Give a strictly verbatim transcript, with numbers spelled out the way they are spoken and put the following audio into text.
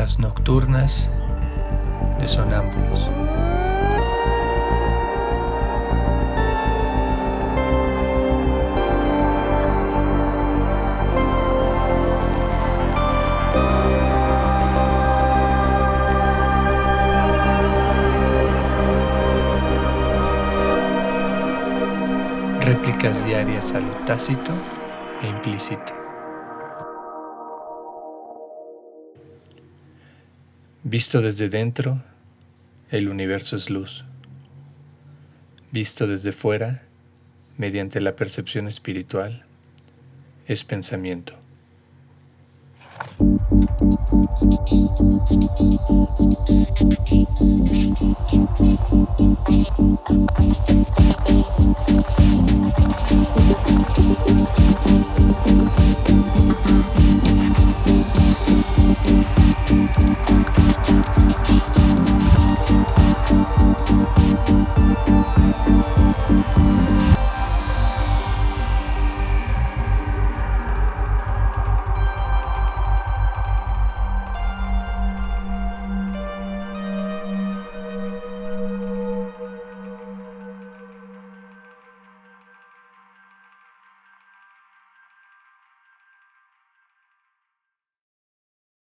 Cápsulas nocturnas de sonámbulos. Réplicas diarias a lo tácito e implícito. Visto desde dentro, el universo es luz. Visto desde fuera, mediante la percepción espiritual, es pensamiento.